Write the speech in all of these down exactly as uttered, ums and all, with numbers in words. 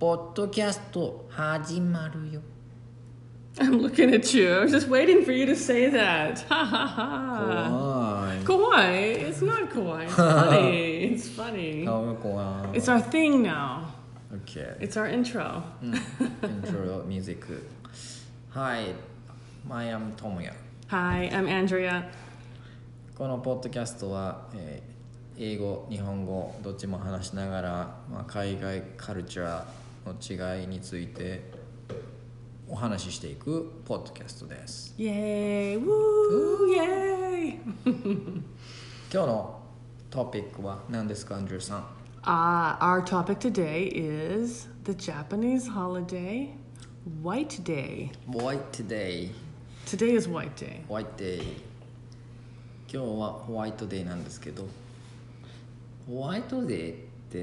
ポッドキャスト始まるよ。 I'm looking at you. I was just waiting for you to say that. Ha ha ha. Kawaii. Kawaii. It's not kawaii. It's funny. It's funny. 顔が怖い。 It's our thing now. Okay. It's our intro. うん、intro music. Hi, I am Tomoya. Hi, I'm Andrea. このポッドキャストは、えー英語、日本語どっちも話しながら、まあ、海外カルチャーの違いについてお話ししていくポッドキャストです。 Yay! Woo! Yay! 今日のトピックは何ですか、アンドリューさん。 Uh, our topic today is the Japanese holiday, White Day. White Day. Today is White Day. White Day. 今日はホワイトデーなんですけど、ホワイトデーって、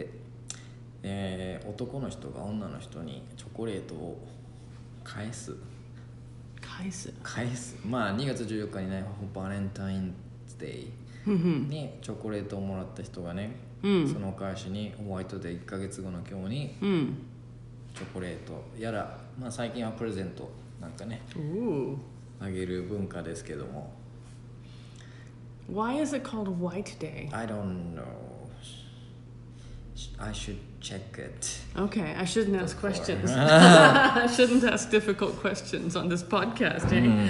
えー、男の人が女の人にチョコレートを返す返す返すまあにがつじゅうよっかにね、バレンタインデーにチョコレートをもらった人がね、うん、そのお返しにホワイトデーいっかげつごの今日に、うん、チョコレートやら、まあ、最近はプレゼントなんかねあげる文化ですけども。 Why is it called White Day? I don't know. I should check it. Okay, I shouldn't ask questions. I shouldn't ask difficult questions on this podcast, eh?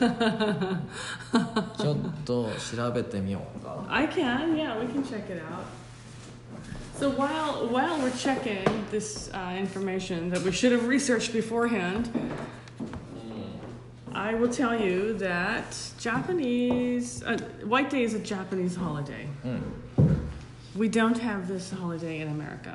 ちょっと調べてみようか。 I can, yeah, we can check it out. So while while we're checking this uh, information that we should have researched beforehand, I will tell you that Japanese uh, White Day is a Japanese holiday. We don't have this holiday in America.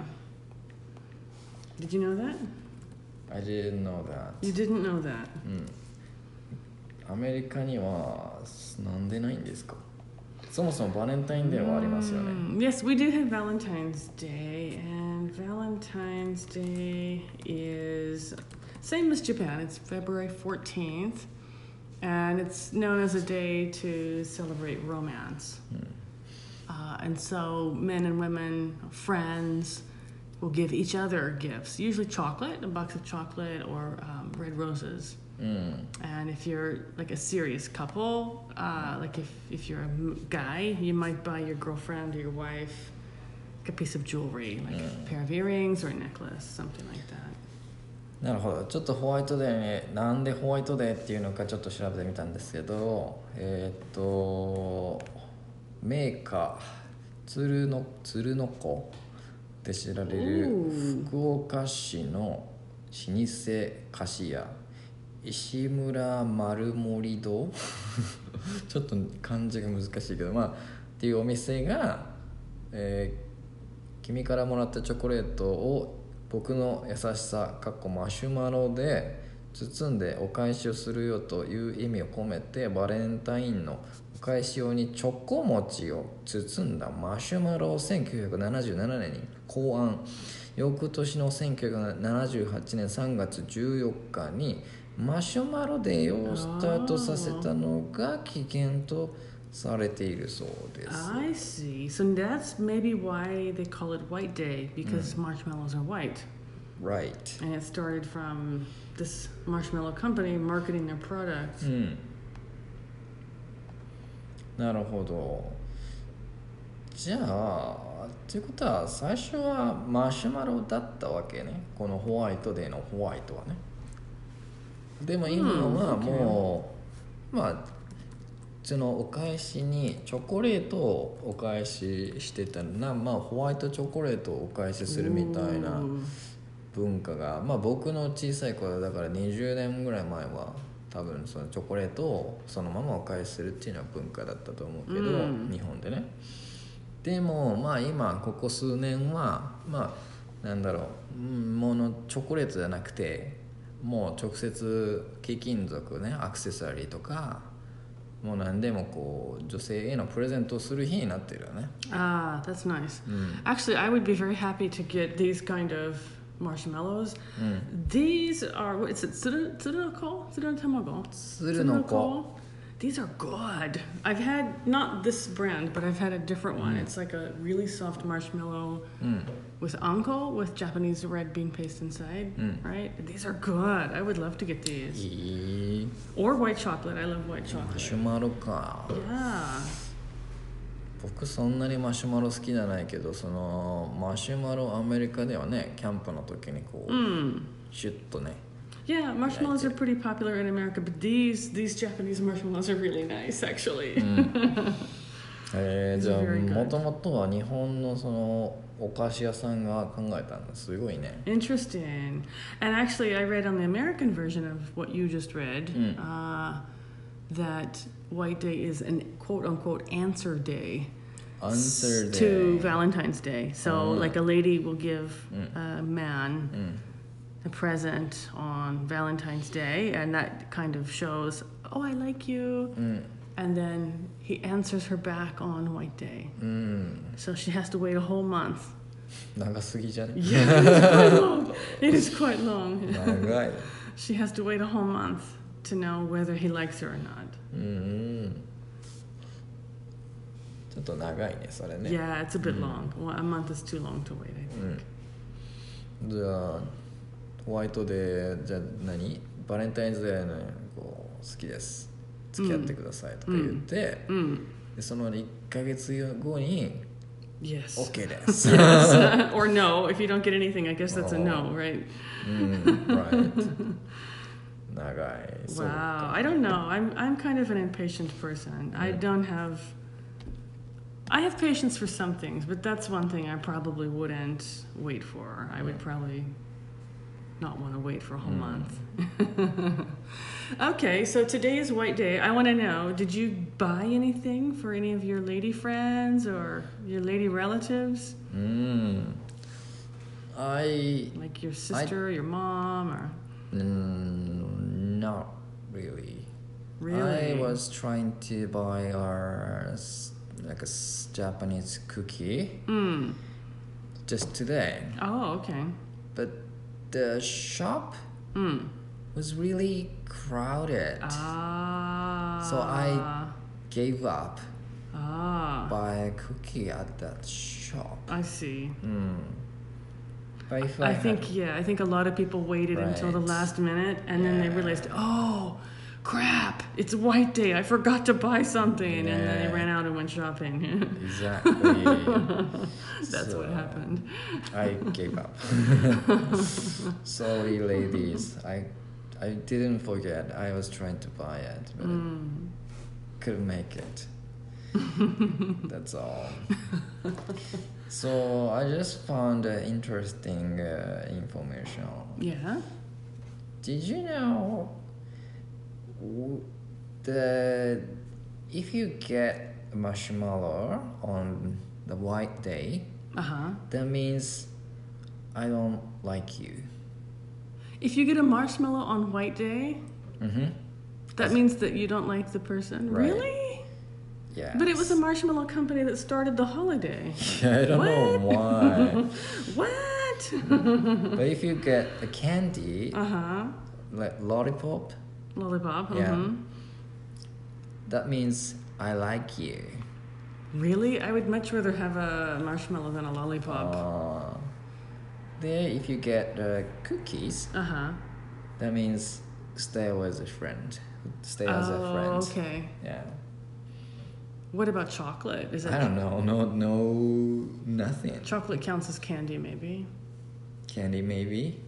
Did you know that? I didn't know that. You didn't know that. うん。アメリカにはなんでないんですか？そもそもバレンタインデーはありますよね。 Mm, yes, we do have Valentine's Day, and Valentine's Day is same as Japan. It's February fourteenth, and it's known as a day to celebrate romance. Uh, and so men and women, friends, will give each other gifts, usually chocolate, a box of chocolate, or um, red roses. Mm. And if you're like a serious couple, uh, like if, if you're a guy, you might buy your girlfriend or your wife like a piece of jewelry, like mm. a pair of earrings or a necklace, something like that. なるほど。ちょっとホワイトデーね、なんでホワイトデーっていうのかちょっと調べてみたんですけど、えー、っとメーカー鶴の鶴の子で知られる福岡市の老舗菓子屋石村丸森堂ちょっと漢字が難しいけど、まあっていうお店が、えー、君からもらったチョコレートを僕の優しさかっこマシュマロで包んでお返しをするよという意味を込めて、バレンタインのお返し用にチョコ餅を包んだマシュマロをせんきゅうひゃくななじゅうななねんに考案。翌年のせんきゅうひゃくななじゅうはちねんさんがつじゅうよっかにマシュマロデーをスタートさせたのが起源とされているそうです。 I see. So that's maybe why they call it White Day, because mm. marshmallows are white. Right. And it started from this marshmallow company marketing their products. うん。なるほど。じゃあっていうことは最初はマシュマロだったわけね、このホワイトデーのホワイトはね。でも今はもう、うん、まあそのお返しにチョコレートをお返ししてたな、まあホワイトチョコレートをお返しするみたいな文化が、まあ僕の小さい頃だからにじゅうねんぐらい前は多分そのチョコレートをそのままお返しするっていうのは文化だったと思うけど、うん、日本でね。でもまあ今ここ数年はまあなんだろう、ものチョコレートじゃなくてもう直接貴金属ね、アクセサリーとかもう何でもこう女性へのプレゼントをする日になってるよね。 Ah, that's nice. Mm. Actually, I would be very happy to get these kind of marshmallows. Mm. These are, what is it, tsurunoko? Tsurunotamago? Tsurunoko. These are good. I've had, not this brand, but I've had a different one. Mm. It's like a really soft marshmallow うん with anko, with Japanese red bean paste inside, Mm. right? These are good. I would love to get い these. い Or white chocolate. I love white マ chocolate. シュマロか Yeah. 僕そんなにマシュマロ好きじゃないけどそのマシュマロアメリカではねキャンプの時にこう、 Mm. シュッとね Yeah, marshmallows Yeah, are pretty popular in America, but these these Japanese marshmallows are really nice, actually. えー、じゃあ Very good. もともとは日本のそのお菓子屋さんが考えたんだすごいね Interesting. And actually, I read on the American version of what you just read Mm. uh, that White Day is an quote unquote answer day. Answer s- to day. Valentine's Day. So, Oh. like a lady will give Mm. a man うん a present on Valentine's Day, and that kind of shows, oh, I like you. うん And then he answers her back on White Day. うん So she has to wait a whole month. 長すぎじゃね Yeah, it's quite long. It is quite long. 長い She has to wait a whole month to know whether he likes her or not. うんうんちょっと長いねそれね Yeah, it's a bit Mm. long. Well, a month is too long to wait, I う think. んじゃあホワイトデーじゃあ何バレンタインズデーのこう好きです付き合ってくださいとか言って、 Mm. でそのいっかげつごに Yes. OK です Yes. Or no. If you don't get anything, I guess that's a no, Oh. right? うん right 長いそう Wow. か I don't know. I'm I'm kind of an impatient person. I Mm. don't have I have patience for some things, but that's one thing I probably wouldn't wait for. I would Mm. probably not want to wait for a whole Mm. month. Okay, so today is White Day. I want to know, did you buy anything for any of your lady friends or your lady relatives? うん I Like your sister, your mom, or mm, not really really? I was trying to buy our s- like a s- Japanese cookie Mm. just today, Oh, okay. but the shop Mm. was really crowded. Ah. So I- Gave up Ah. buy a cookie at that shop. I see. Mm. But if I, I had- think yeah, I think a lot of people waited until the Right. last minute and then they Yeah. realized, "Oh, crap. It's White Day. I forgot to buy something." And then they Yeah. ran out and went shopping. exactly. That's So, what happened. I gave up. Sorry, ladies. I I didn't forget. I was trying to buy it, but I Mm. couldn't make it. That's all. So I just found uh, interesting uh, information. Yeah. Did you know w- the if you get a marshmallow on the White Day, Uh-huh. that means I don't like you. If you get a marshmallow on White Day, Mm-hmm. that means that you don't like the person. Right. Really? Yeah. But it was a marshmallow company that started the holiday. I don't know why. What? But if you get a candy, Uh-huh. like lollipop, Lollipop. Yeah. Uh-huh. that means I like you. Really? I would much rather have a marshmallow than a lollipop. Uh, there, if you get uh, cookies, Uh-huh. that means stay as a friend. Stay as a Oh, friend. okay. Yeah. What about chocolate? Is I that don't know. No, no, nothing. chocolate counts as candy maybe? Candy, maybe.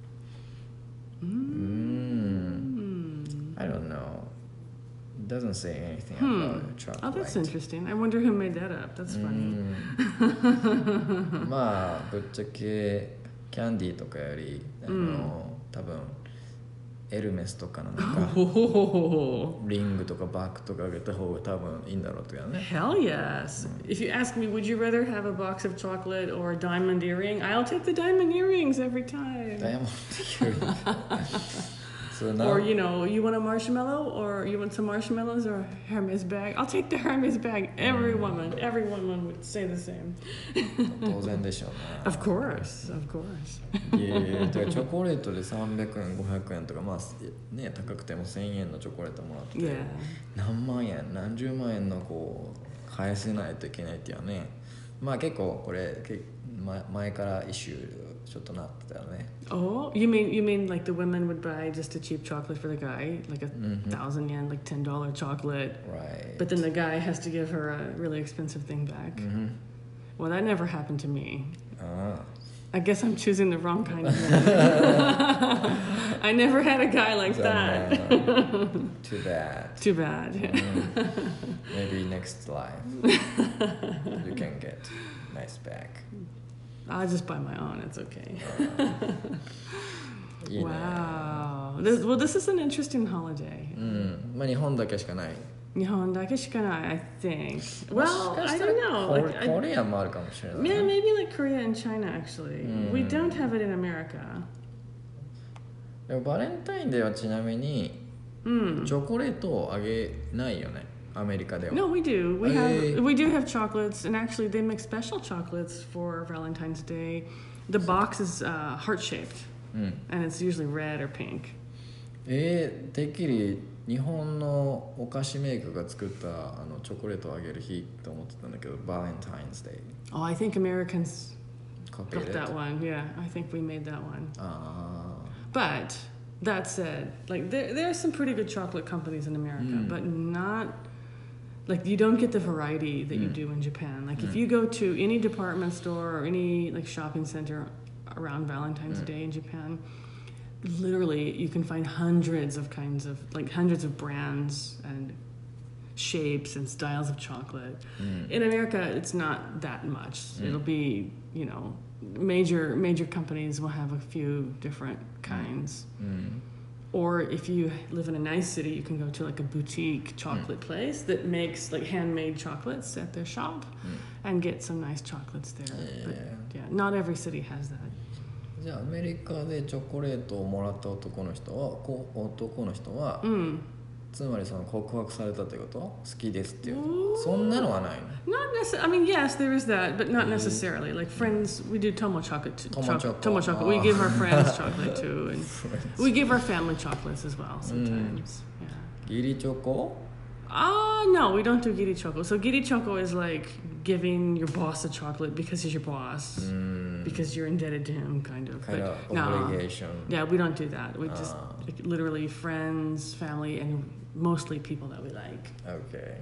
Mm. Hmm. I don't know. It doesn't say anything Hmm. about chocolate. Oh, that's interesting. I wonder who made that up. That's funny. うんまあぶっちゃけキャンディーとかよりあの、 うん多分エルメスとかのなんか Oh, リングとかバッグとかあげた方が多分いいんだろうとかね hell yes. If you ask me, would you rather have a box of chocolate or a diamond earring? I'll take the diamond earrings every time. ダイヤモンドより So now, Or, you know, you want a marshmallow or you want some marshmallows or a Hermes bag? I'll take the Hermes bag. Every woman, every woman would say the same. 当然でしょうね。 Of course, of course. いやいや、だからチョコレートでさんびゃくえんごひゃくえんとか、まあね、高くてもせんえんのチョコレートもらって、 Yeah. 何万円何十万円のこう返せないといけないっていうのはね、まあ結構これけ前前からイシューちょっとなってたよね。 Oh, you mean you mean like the women would buy just a cheap chocolate for the guy, like a Mhm. thousand yen, like ten dollar chocolate, Right. but then the guy has to give her a really expensive thing back. Mhm. Well, that never happened to me. あ I guess I'm choosing the wrong kind of man. I never had a guy あ like 残 that. 念 Too bad. Too bad. Mm. Maybe next life you can get nice bag. I'll just buy my own. It's okay. いいね。 Wow. This, well, this is an interesting holiday. うん、まあ日本だけしかない。 Nihon dake shikanai, I think. Well, I don't know. コ Like, I, コリアもあるかもしれない。 yeah, maybe like Korea and China, actually. We don't have it in America. でもバレンタインデーはちなみに Mm. チョコレートをあげないよね、アメリカでは。 No, we do. We Hey. have we do have chocolates, and actually they make special chocolates for Valentine's Day. The box is uh, heart shaped, うん、 and it's usually red or pink. えー、てっきり日本のお菓子メーカーが作ったあのチョコレートをあげる日と思ってたんだけど、バレンタインデー Oh, I think Americans コピー got で。 that one. Yeah, I think we made that one. あ But that said, like there there are some pretty good chocolate companies in America, Mm. but not like you don't get the variety that you Mm. do in Japan. Like if Mm. you go to any department store or any like shopping center around Valentine's Mm. Day in Japan, literally you can find hundreds of kinds of like hundreds of brands and shapes and styles of chocolate. あ、うん、 In America, it's not that much. Mm. It'll be, you know, major major companies will have a few different kinds. うん、 Or if you live in a nice city, you can go to like a boutique chocolate place that makes like handmade chocolates at their shop うん。 and get some nice chocolates there. But Yeah. yeah, not every city has that. じゃあアメリカでチョコレートをもらった男の人はこう男の人は、 Mm. つまりその告白されたってこと好きですっていう Ooh. そんなのはないの Not necessarily. I mean, yes, there is that, but not Mm. necessarily. Like friends, we do tomo chocolate. Too. Tomo choco. Tomo chocolate. We Ah. give our friends chocolate too, and we give our family chocolates as well sometimes. Yeah. 義理チョコ Ah, no, we don't do giri choco. So giri choco is like giving your boss a chocolate because he's your boss, うん because you're indebted to him, kind of. kind of But no, obligation yeah, we don't do that. We just Ah. like, literally friends, family, and mostly people that we like. okay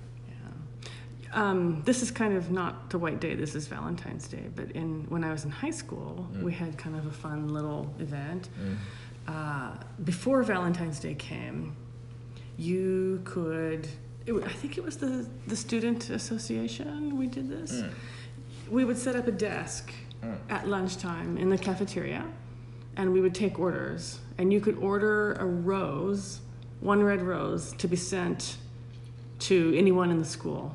Yeah. Um, this is kind of not the White Day. This is Valentine's Day. But in when I was in high school, Mm. we had kind of a fun little event. うん Uh, before Valentine's Day came, you could. It, wa- I think it was the the student association. We did this. うん We would set up a desk うん at lunchtime in the cafeteria, and we would take orders. And you could order a rose, one red rose, to be sent to anyone in the school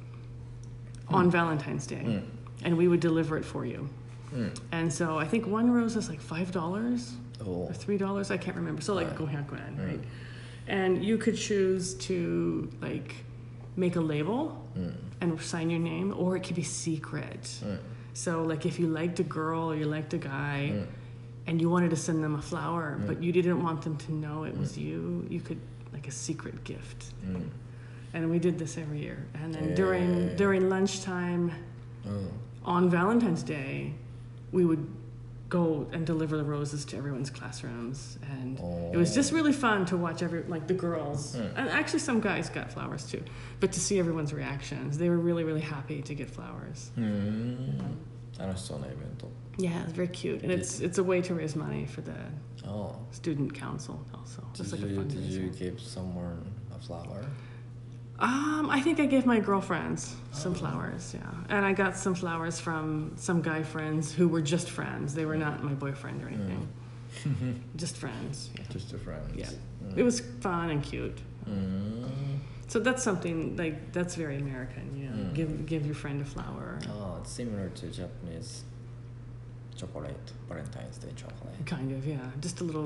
on Valentine's Day, うん and we would deliver it for you. うん And so I think one rose is like five dollars お or three dollars. I can't remember. So like Right. gohyakuan, Mm. right? And you could choose to like make a label うん and sign your name, or it could be secret. うん So like if you liked a girl or you liked a guy うん and you wanted to send them a flower, Mm. but you didn't want them to know it was you, you could like a secret gift. うん And we did this every year. And then Yeah. during during lunchtime うん on Valentine's Day, we would go and deliver the roses to everyone's classrooms, and it was just really fun to watch every like the girls, Mm. and actually some guys got flowers too, but to see everyone's reactions, they were really really happy to get flowers. うーん楽しそうなイベント Yeah, it's very cute, and it's it's a way to raise money for the ああ student council also. Just Did like a you, did you fundraiser. give someone a flower? Um, I think I gave my girlfriends some Oh. flowers, yeah, and I got some flowers from some guy friends who were just friends. They were not my boyfriend or anything. Just friends. Yeah. Just a friend. Yeah. Mm. It was fun and cute. うーん So that's something like that's very American, you know. Mm. Give give your friend a flower. Oh, it's similar to Japanese chocolate, Valentine's Day chocolate. Kind of, yeah. Just a little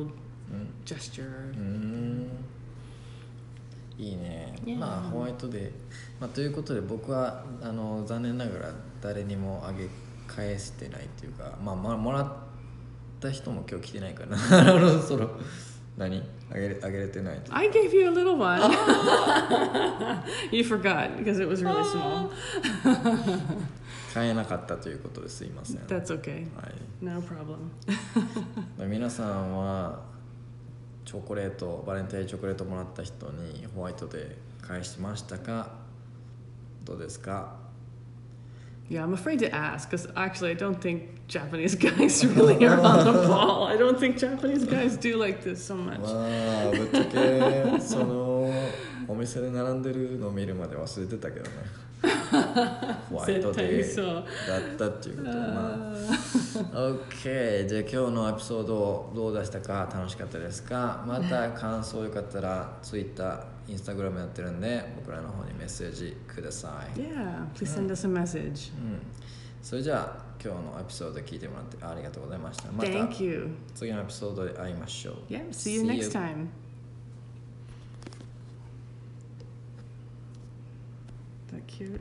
gesture. うーんいいね、 Yeah. まあホワイトデー、まあ、ということで僕はあの残念ながら誰にもあげ返してないっていうか、まあ、まあもらった人も今日来てないからなあのその何あげれあげれてない。 I gave you a little one. You forgot because it was really small. 買えなかったということですいません。 That's okay. はい、 No problem. 皆さんはチョコレートバレンタインチョコレートもらった人にホワイトデー返しましたか？どうですか？ Yeah, I'm afraid to ask because actually I don't think Japanese guys really are on the ball. I don't think Japanese guys do like this so ま much. あぶっちゃけそのお店で並んでるのを見るまで忘れてたけどねホワイトデーだったっていうことをまあ OK じゃあ今日のエピソードどうでしたか？楽しかったですか？また感想よかったら Twitter、Instagram やってるんで僕らの方にメッセージください。 Yeah, please send us a message. うんそれじゃあ今日のエピソード聞いてもらってありがとうございました。また Thank you. 次のエピソードで会いましょう。 Yeah, see you next time. That cute.